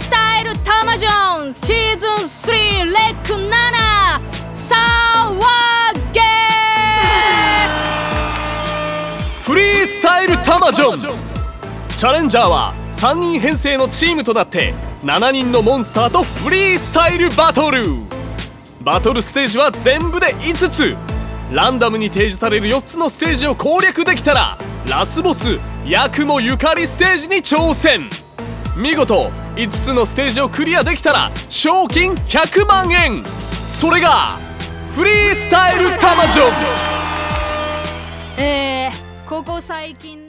スタイルタマジョンシーズン3レック7サワゲー。 フリースタイルタマジョン。チャレンジャーは3人編成のチームとなって7人のモンスターとフリースタイルバトル。バトルステージは全部で5つ。ランダムに提示される4つのステージを攻略できたらラスボスヤクモゆかりステージに挑戦。見事5つのステージをクリアできたら賞金100万円。それがフリースタイルタマジョン。 ここ最近